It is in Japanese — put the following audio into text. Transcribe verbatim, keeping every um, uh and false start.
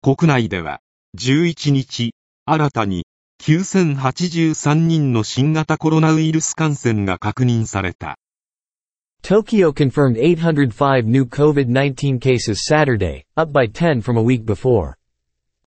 国内ではじゅういちにち、新たにきゅうせんはちじゅうさんにんの新型コロナウイルス感染が確認された。 Tokyo confirmed eight hundred five new COVID nineteen cases Saturday, up by ten from a week before.